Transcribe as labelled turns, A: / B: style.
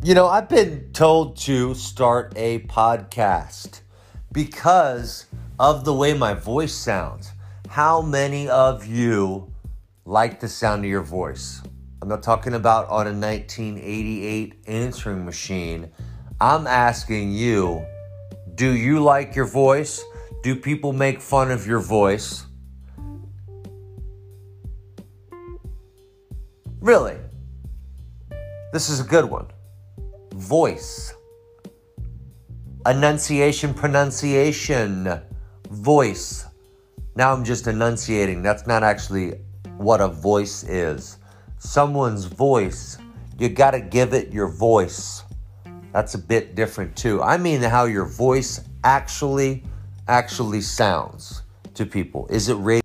A: I've been told to start a podcast because of the way my voice sounds. How many of you like the sound of your voice? I'm not talking about on a 1988 answering machine. I'm asking you, do you like your voice? Do people make fun of your voice? Really? This is a good one. Voice. Enunciation, pronunciation. Voice. Now I'm just enunciating. That's not actually what a voice is. Someone's voice, you gotta give it your voice. That's a bit different too. I mean how your voice actually sounds to people. Is it radio?